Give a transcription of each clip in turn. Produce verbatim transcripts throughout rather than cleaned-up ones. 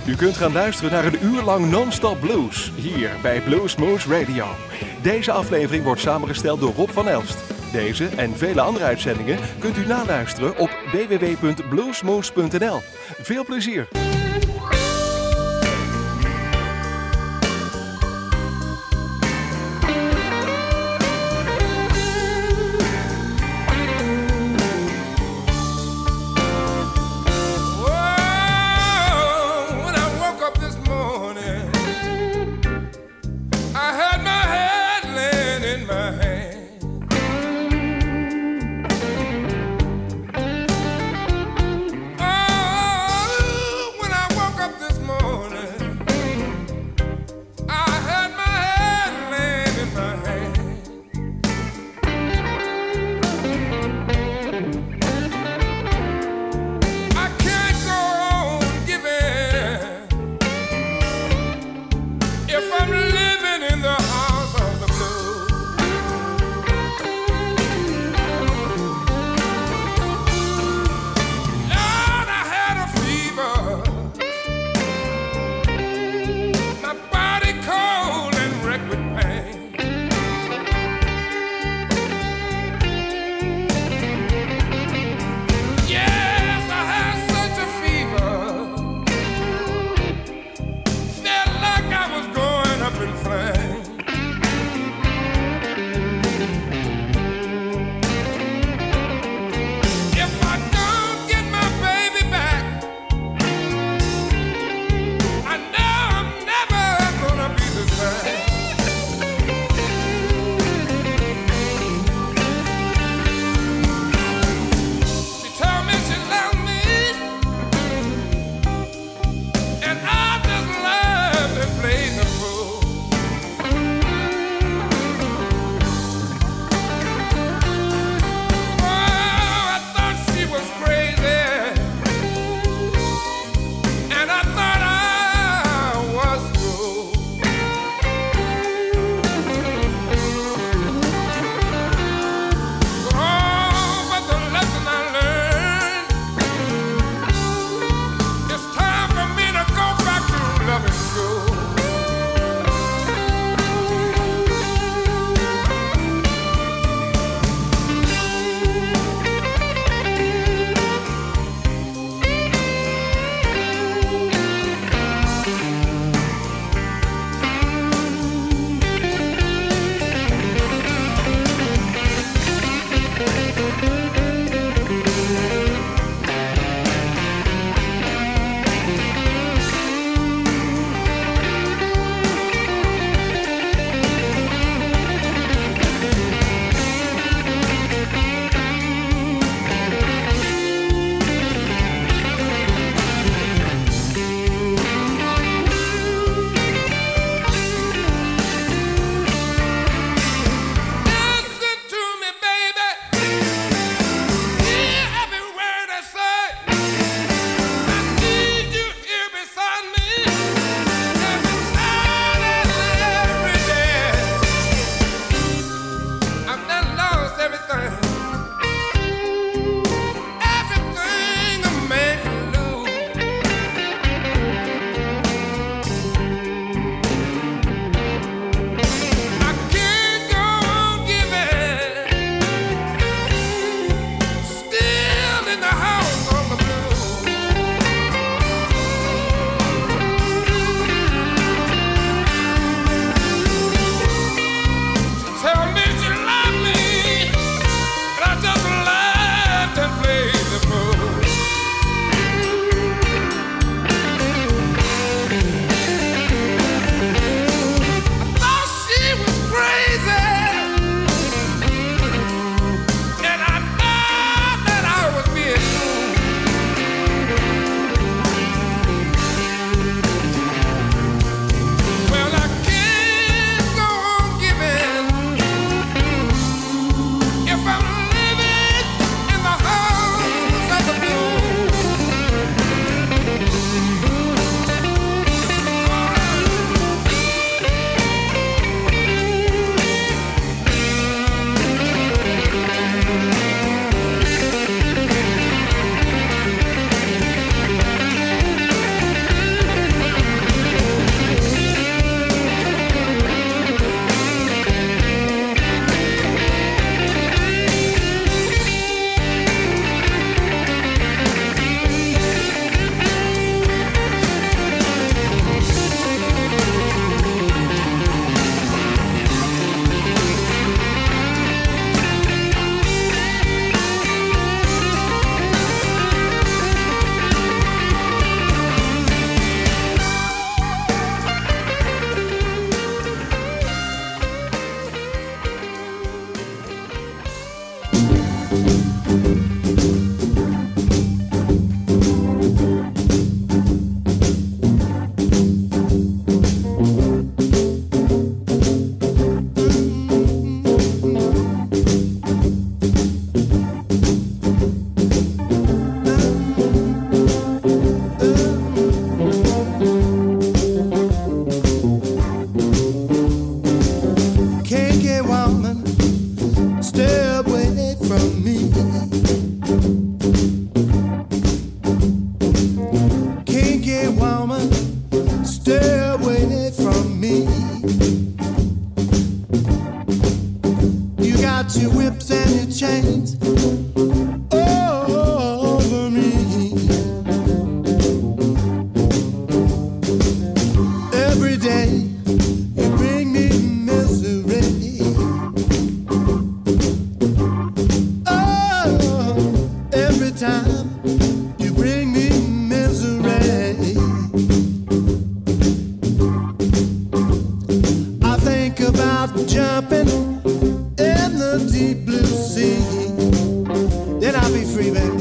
U kunt gaan luisteren naar een uur lang non-stop blues, hier bij Bluesmoose Radio. Deze aflevering wordt samengesteld door Rob van Elst. Deze en vele andere uitzendingen kunt u naluisteren op w w w punt bluesmoose punt n l. Veel plezier! When Kinky woman, stay away from me. You got your whips and your chains over me. Every day you bring me misery. Oh, every time you bring me misery. I think about jumping in the deep blue sea. Then I'll be free, baby.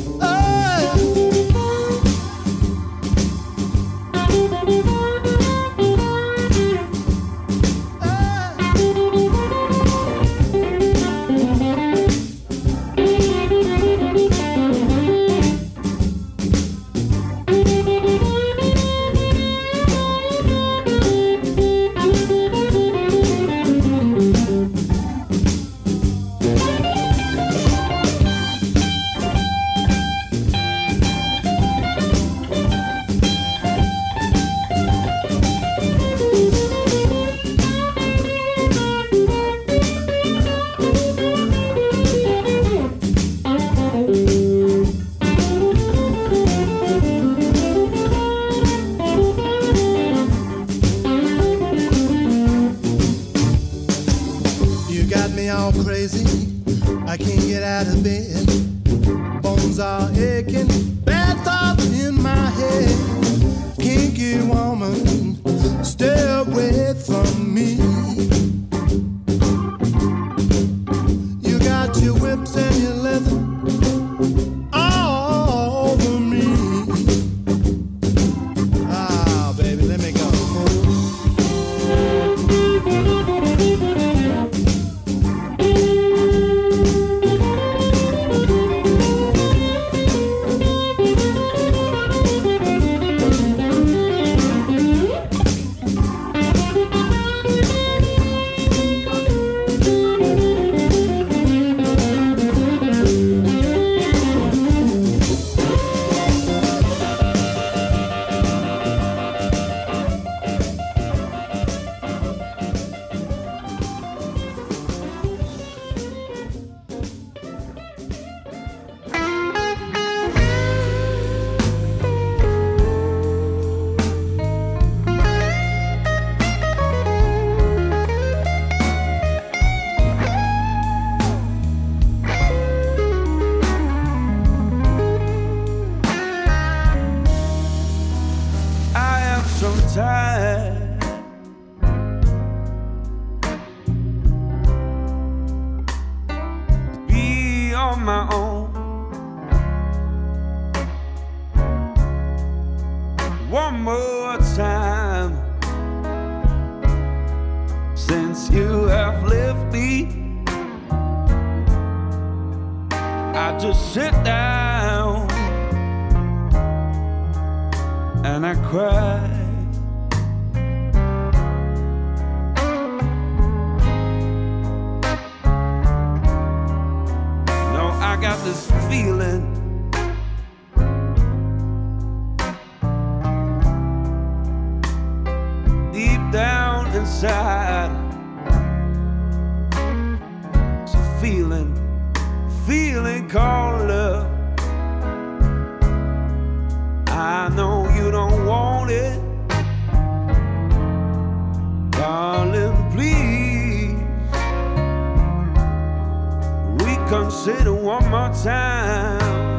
Consider one more time.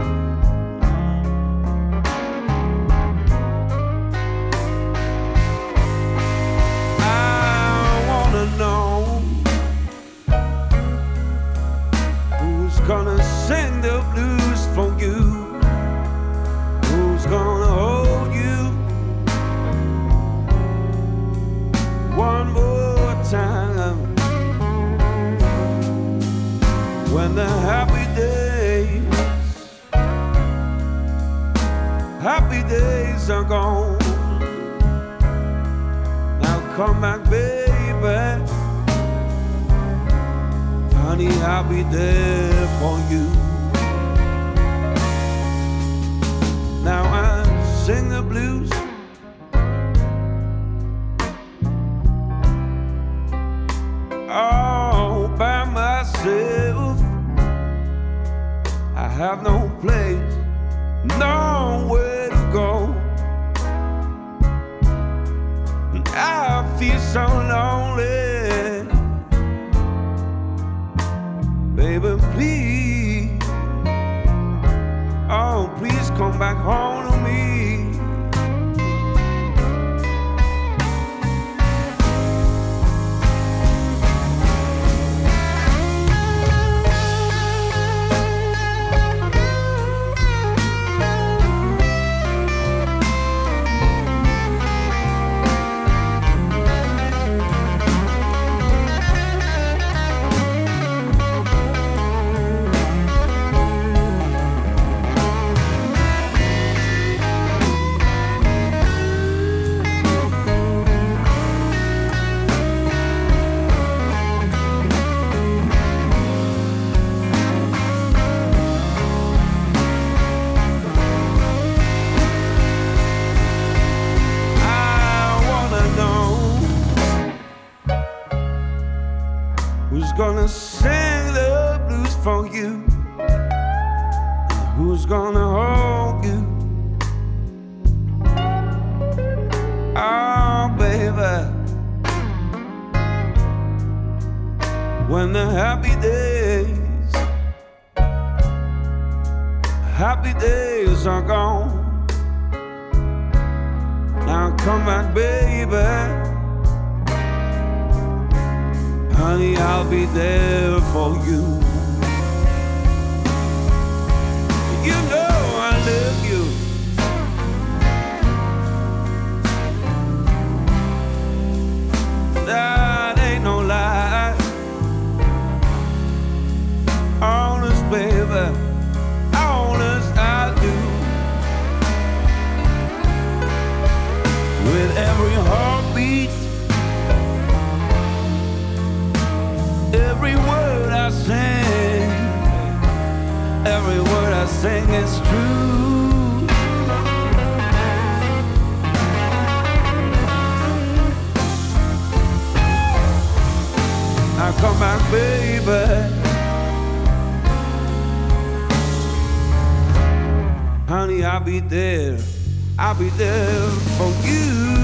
I wanna know who's gonna sing the blues for you, who's gonna hold you one more time. When the happy days, happy days are gone, now come back, baby. Honey, I'll be there for you. have no place, nowhere to go. And I feel so lonely. Baby, please, oh, please come back home to me. Gonna sing the blues for you, and who's gonna hold you? Oh, baby, when the happy days, happy days are gone. Now come back, baby. Honey, I'll be there for you. You know I love you. That ain't no lie. Honest, baby, honest I do. With every heartbeat, every word I sing, every word I sing is true. Now come back, baby. Honey, I'll be there, I'll be there for you.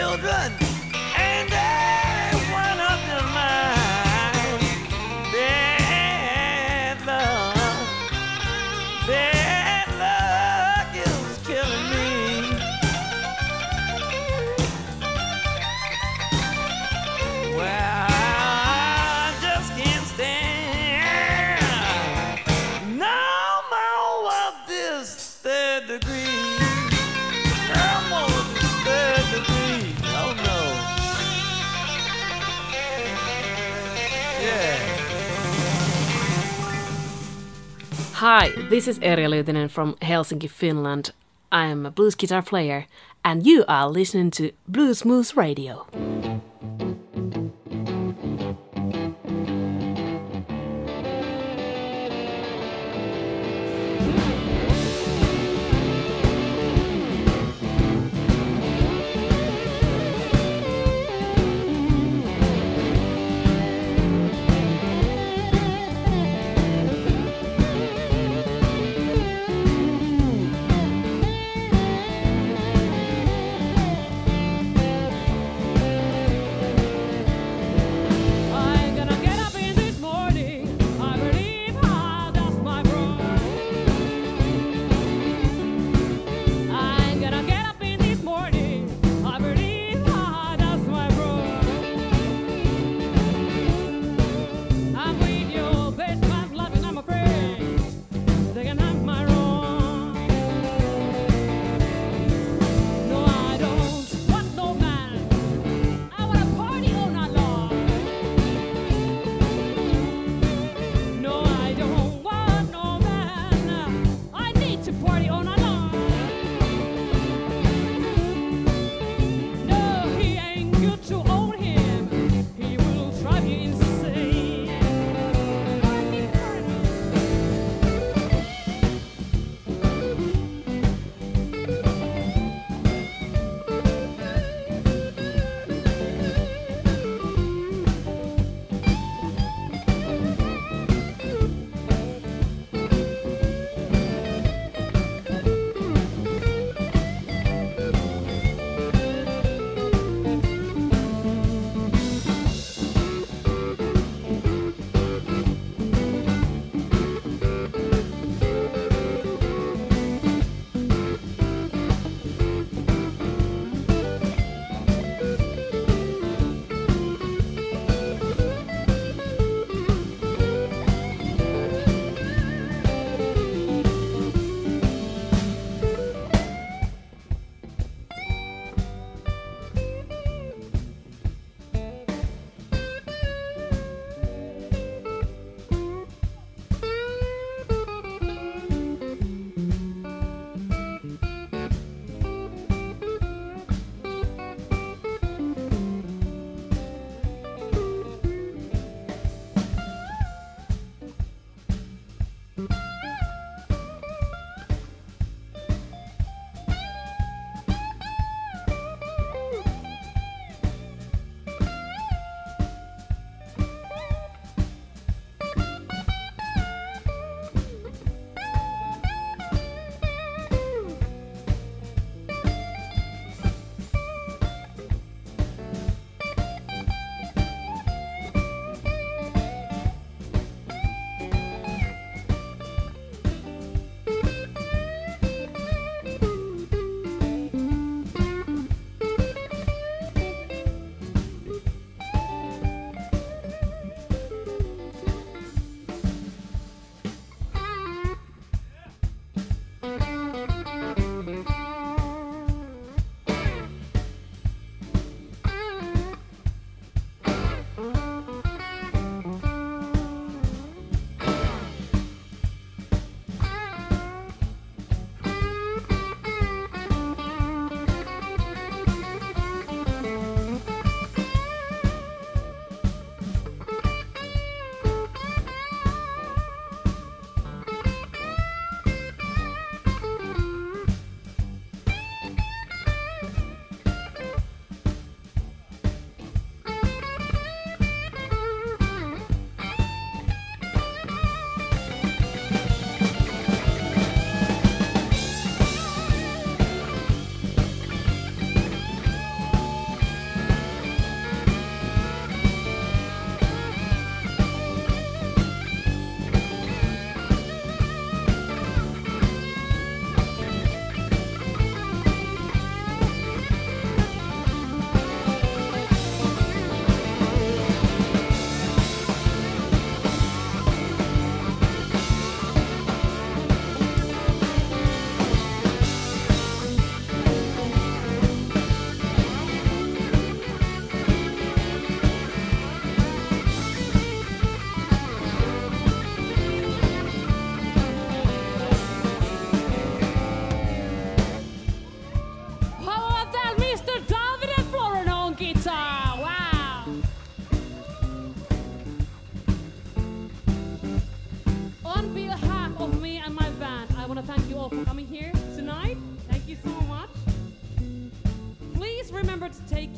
children, and every one of them mine. Bad luck, bad luck is killing me. Well, I just can't stand no more of this third degree. No more of this third degree. Oh no. Yeah. Hi, this is Erja Lyytinen from Helsinki, Finland. I am a blues guitar player, and you are listening to Blues Moose Radio.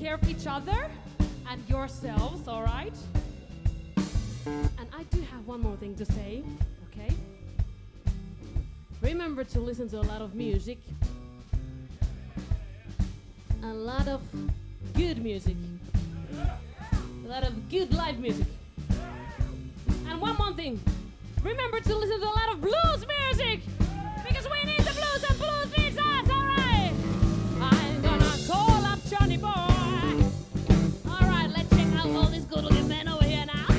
care of each other and yourselves, all right? And I do have one more thing to say, okay? Remember to listen to a lot of music. A lot of good music. A lot of good live music. And one more thing. Remember to listen to a lot of blues music. Because we need the blues and blues needs us, alright? I'm gonna call up Johnny Boy. Alright, let's check out all these good looking men over here now.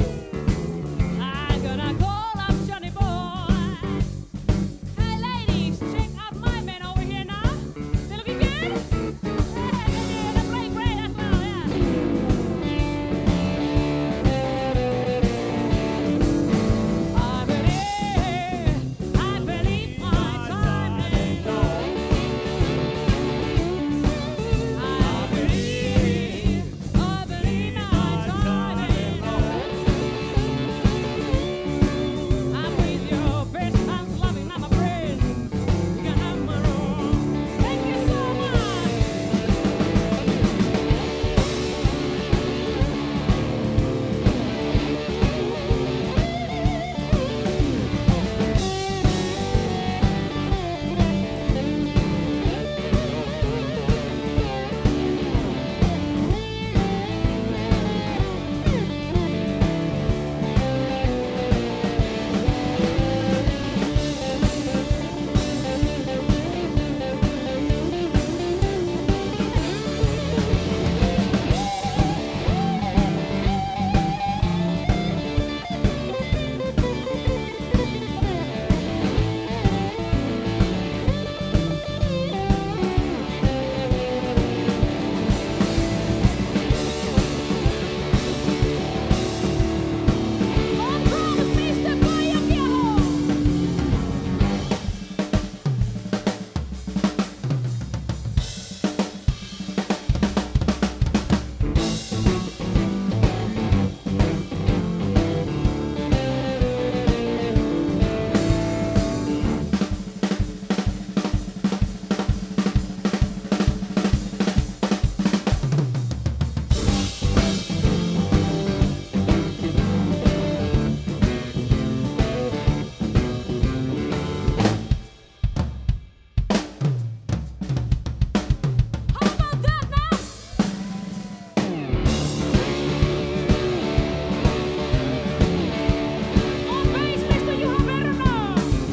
I'm gonna call up Johnny Boy. Hey ladies, check out my men over here now. They looking good? Yeah, they're playing great as well, yeah. I believe, I believe my time is gone. I believe, I believe my time is gone. I'm with your best friends, loving, I'm a friend. You can have my own. Thank you so much. On promise, mister Boy Viejo. How about that now? On bass, mister, you have better know.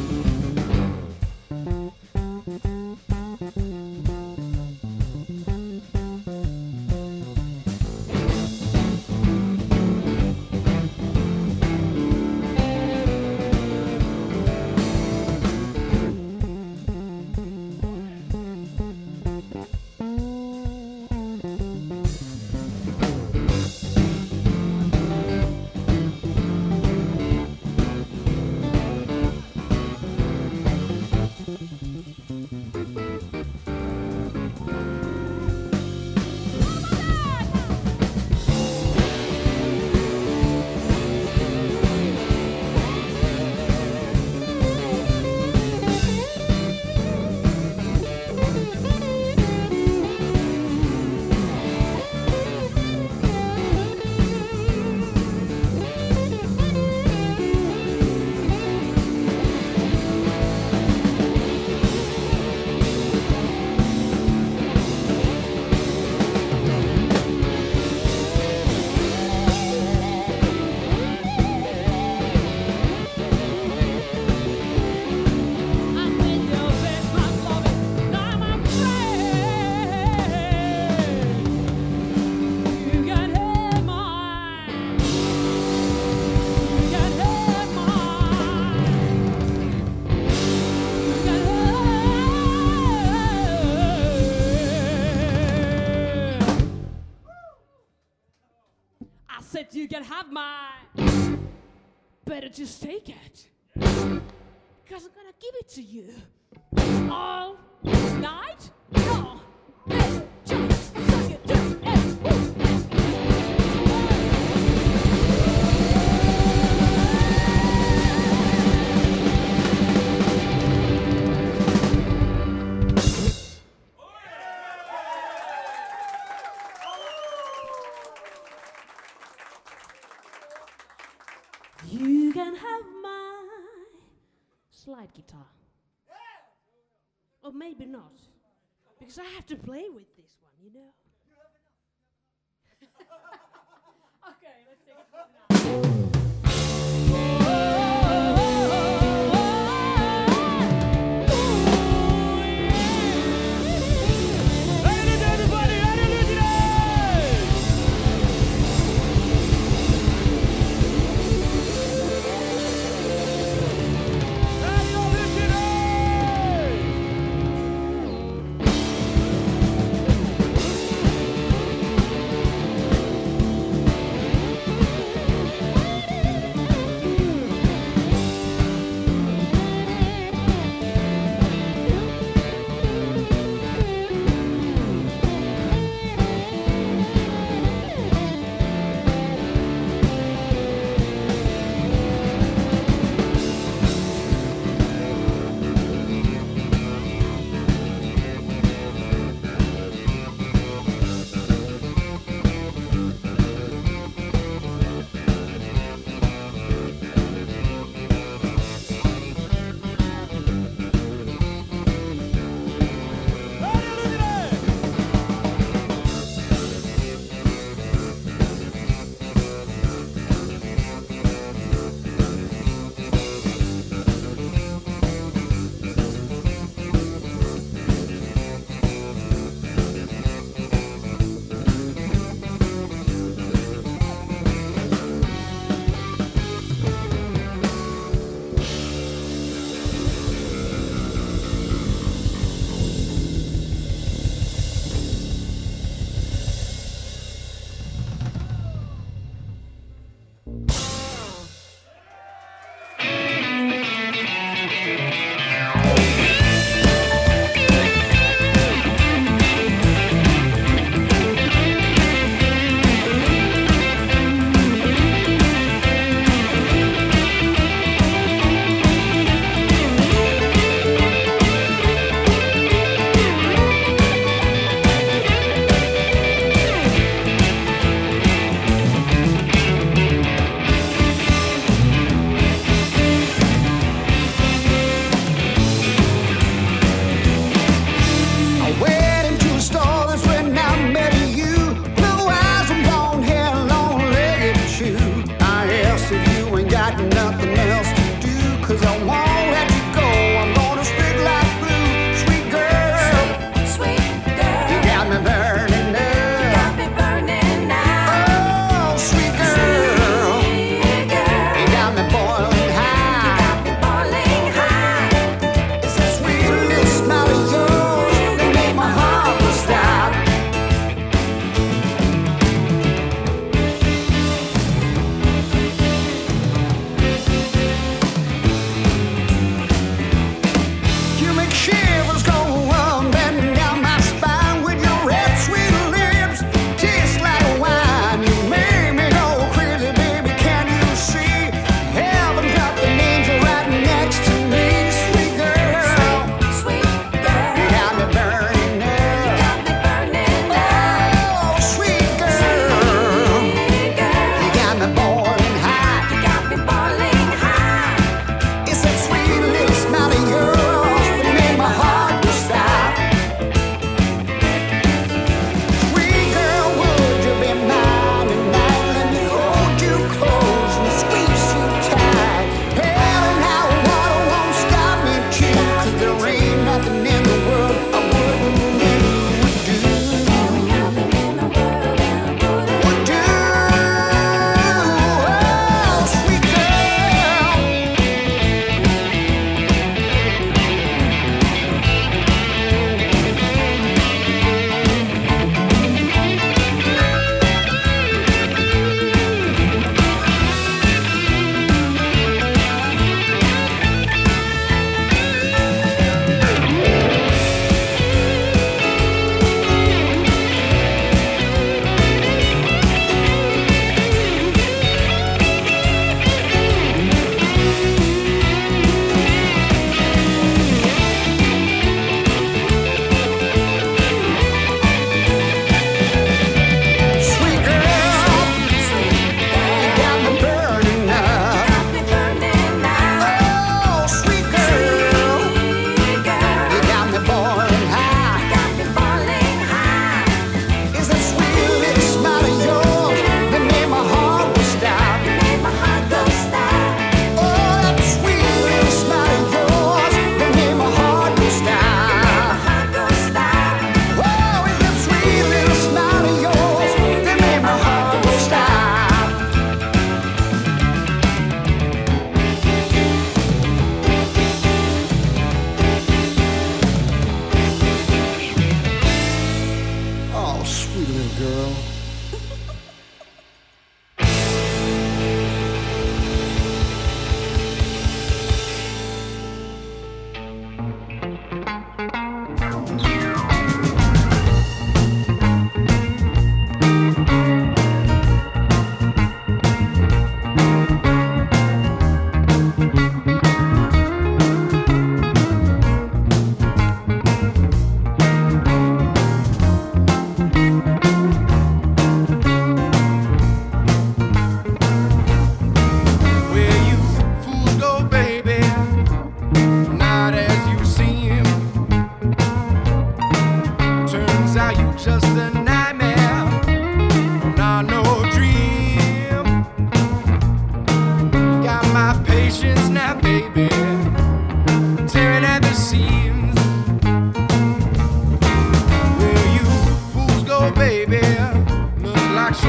I'm with your best friends, loving, I'm a friend. You can have mine. You can have mine. You can have. I said you can have mine. Better just take it. Because I'm gonna give it to you. All night? No. Hey, just suck it, just, hey, woo. You can have my slide guitar. Or maybe not. Because I have to play with this one, you know? Okay, let's take it now.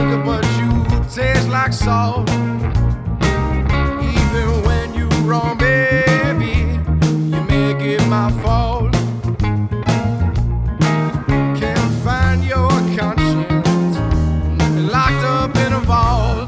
sugar, but you taste like salt. Even when you wrong, baby, you make it my fault. Can't find your conscience, locked up in a vault.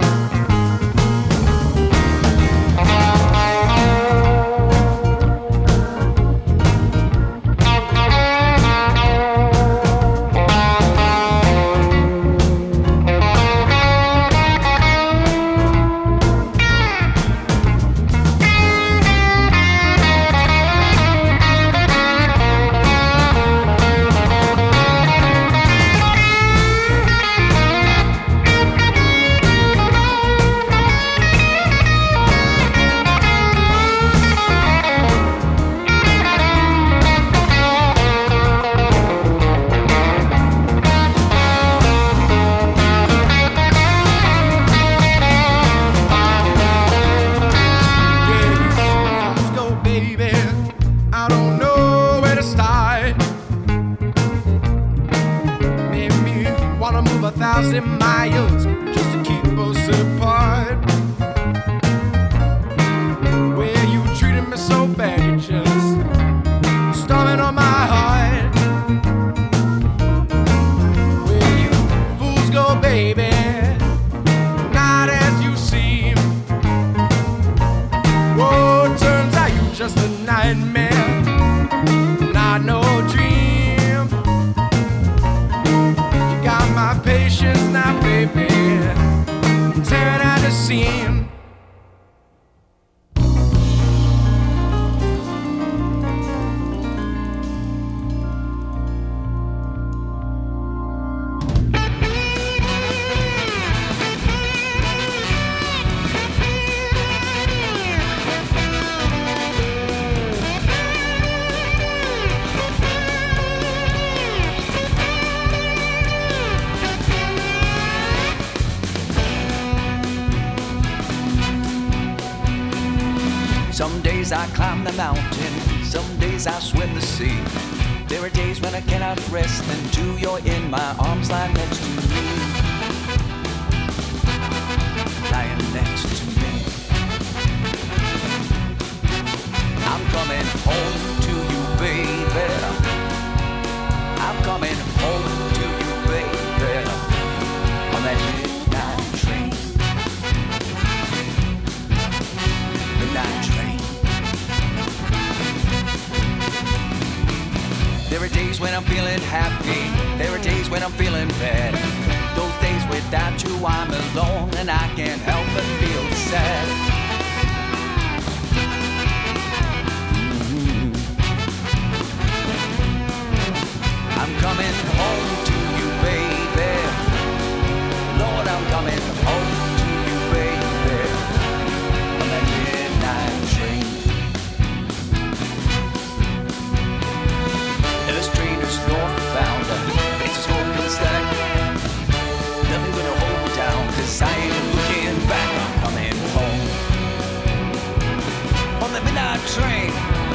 Miles just to keep us apart. Where you treated me so bad, you just storming on my heart. Where you fools go, baby, not as you seem. Oh, it turns out you just a nightmare, not no dream. You got my patience now, baby, tearing at the seam. Some days I climb the mountain, some days I swim the sea. There are days when I cannot rest until you're in my arms, lying next to me. Lying next to me. I'm coming home to you, baby. I'm coming home to you, baby. On that midnight train. Midnight train. There are days when I'm feeling happy, there are days when I'm feeling bad. Those days without you I'm alone and I can't help but feel sad. Mm-hmm. I'm coming home to you, baby. Lord, I'm coming home to you, baby. On that midnight train. Illustrators northbound, it's a smoking stack. Nothing gonna hold me down, cause I ain't looking back. I'm coming home on the midnight train.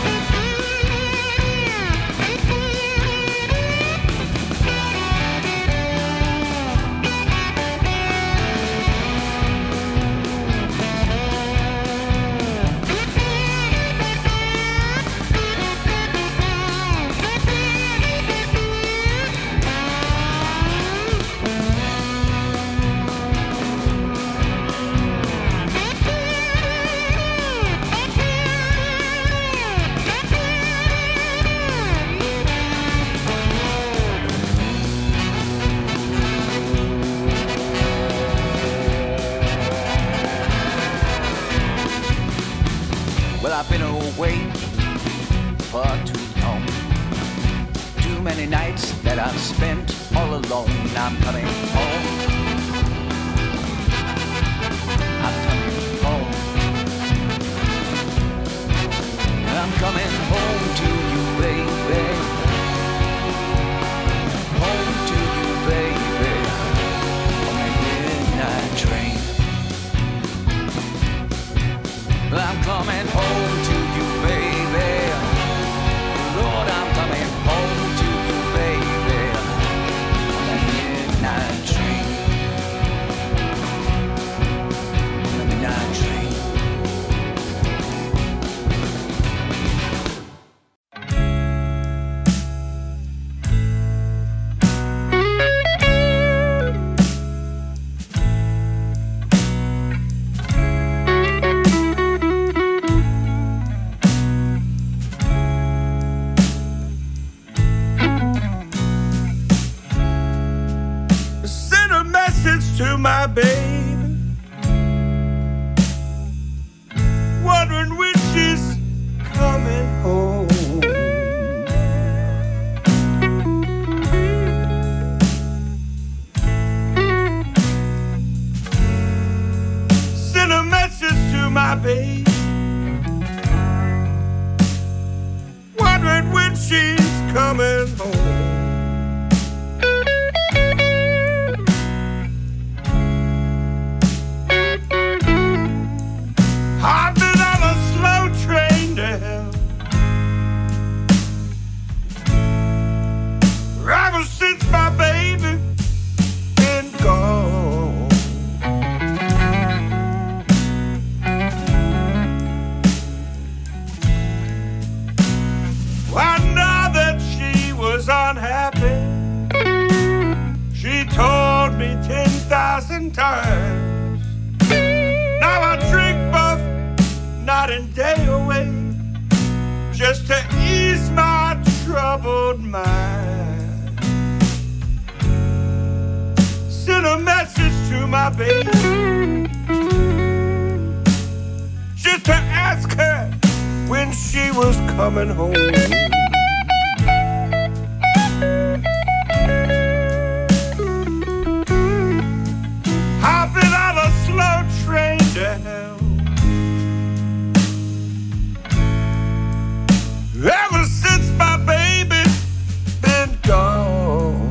Well, I've been away for too long. Too many nights that I've spent all alone. I'm coming home. I'm coming home. I'm coming home to you, baby. Home to you, baby. On that midnight train. I'm coming home to you, baby. Lord, I'm coming home to you, baby. On that midnight train. to my baby, wondering when she's coming home. Send a message to my baby, wondering when she's coming home. I've been on a slow train to hell ever since my baby been gone. I know that she was unhappy. She told me ten thousand times. Now I drink both night and day away just to ease my troubled mind. Sent a message to my baby just to ask her when she was coming home. I've been on a slow train to hell ever since my baby been gone.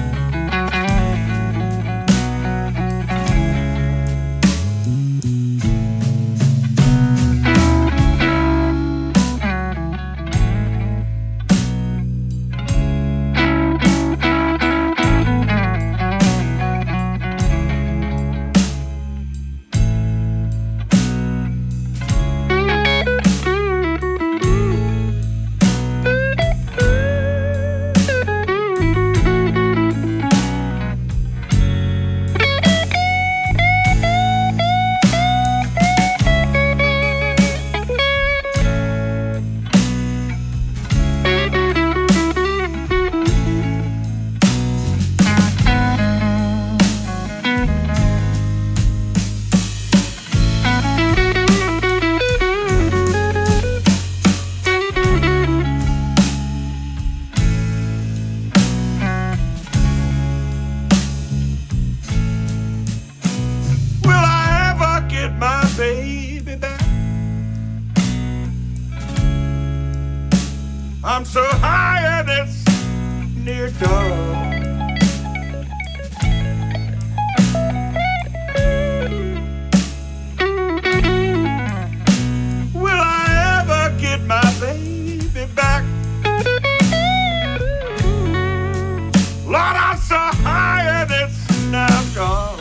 I'm so high and it's near dawn. Will I ever get my baby back? Lord, I'm so high and it's now gone.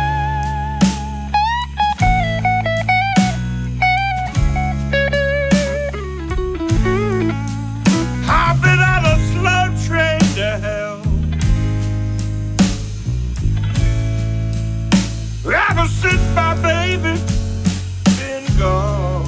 I've been on a slow train to hell ever since my baby been gone.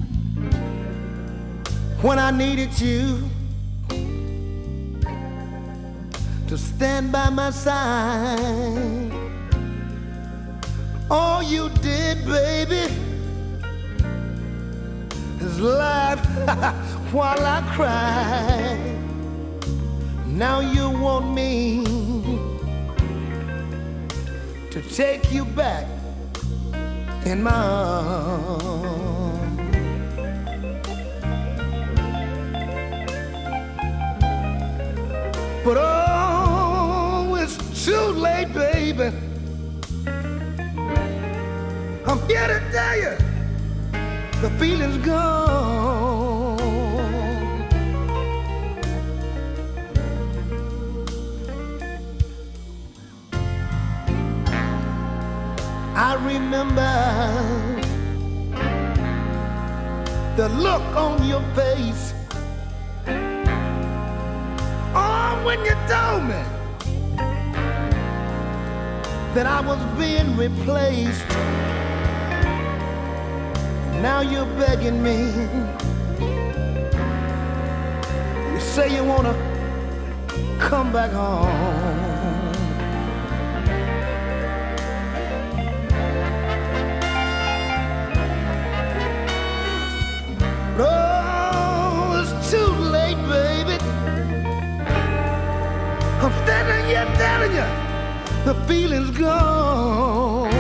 When I needed you, to stand by my side. All you did, baby, is laugh while I cry. Now you want me to take you back in my arms. But oh, it's too late, baby. I'm here to tell you, the feeling's gone. I remember the look on your face. Oh, when you told me that I was being replaced. Now you're begging me. You say you wanna come back home. Oh, it's too late, baby. I'm standing here telling you, the feeling's gone.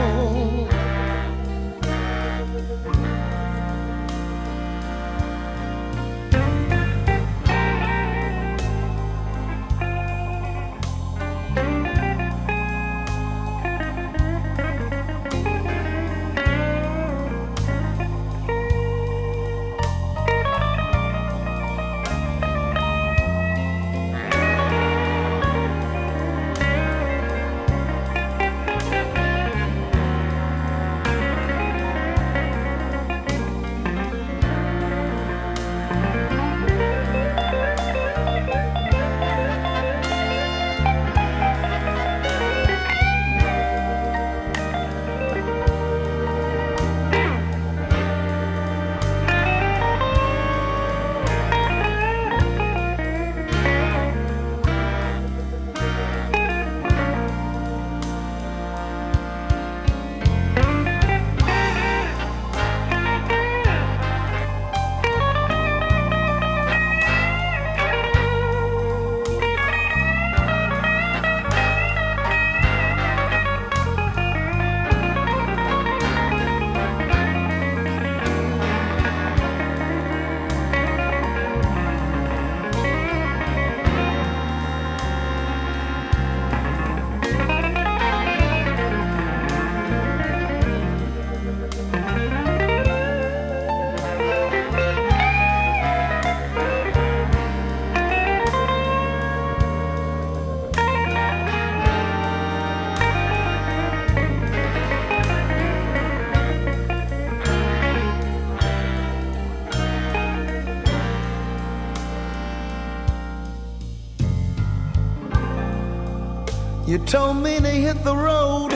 You told me to hit the road,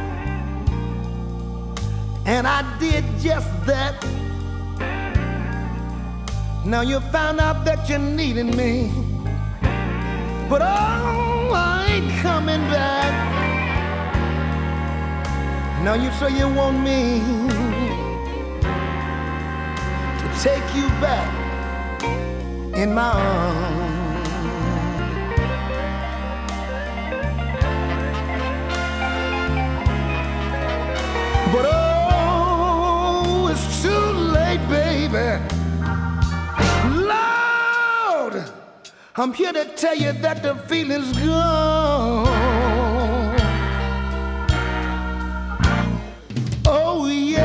and I did just that. Now you found out that you needed me, but oh, I ain't coming back. Now you say you want me to take you back in my arms. But oh, it's too late, baby. Lord, I'm here to tell you that the feeling's gone. Oh, yeah.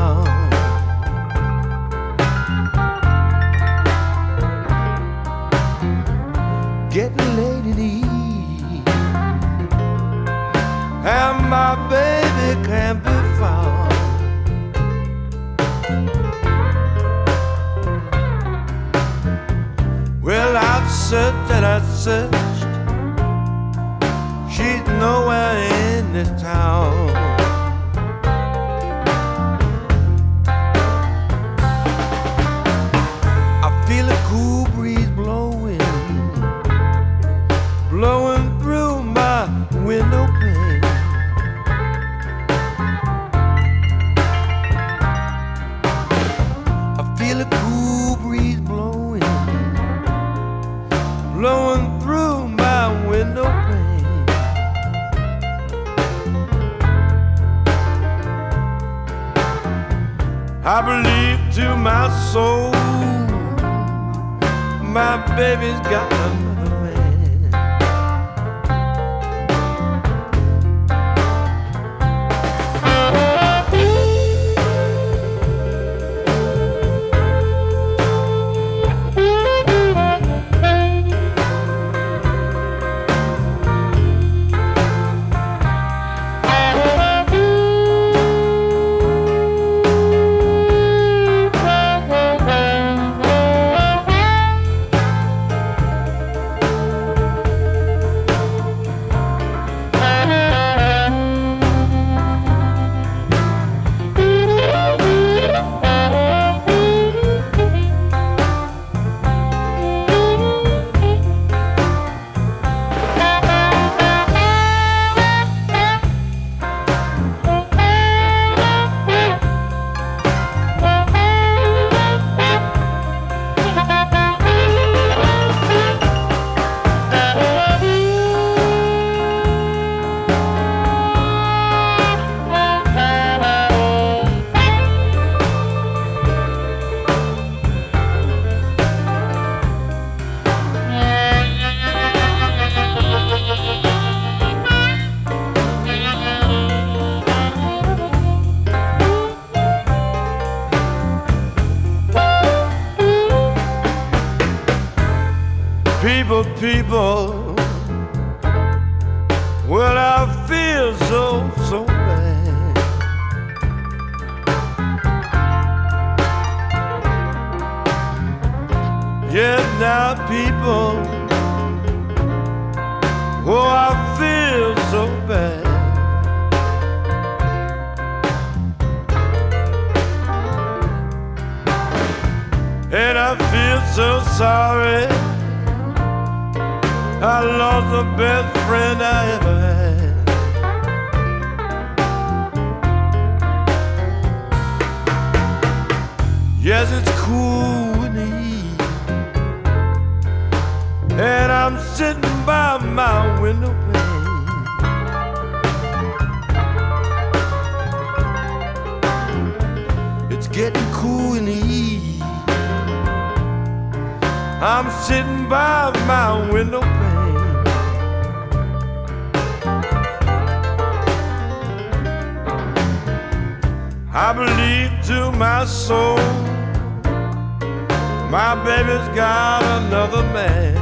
found. Getting late in the evening, and my baby can't be found. Well, I've searched and I've searched, she's nowhere in this town. I feel a cool breeze blowing, blowing through my window pane. I feel a cool breeze blowing, blowing through my window pane. I believe to my soul, my baby's got another man. People, people, well, I feel so, so bad. Yeah, now people, oh, I feel so bad. And I feel so sorry, I lost the best friend I ever had. Yes, it's cool in the evening, and I'm sitting by my window pane. It's getting cool in the evening, I'm sitting by my window pane. I believe to my soul, my baby's got another man.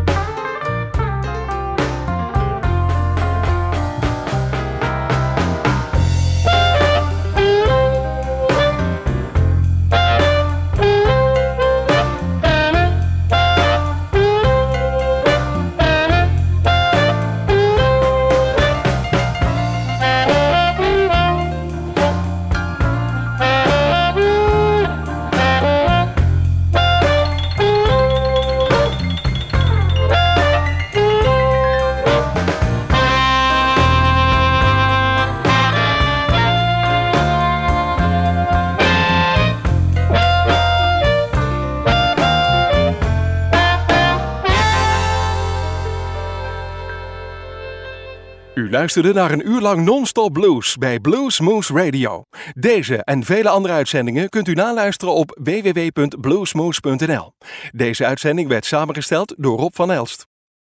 U luisterde naar een uur lang non-stop blues bij Blues Moose Radio. Deze en vele andere uitzendingen kunt u naluisteren op w w w punt bluesmoose punt n l. Deze uitzending werd samengesteld door Rob van Elst.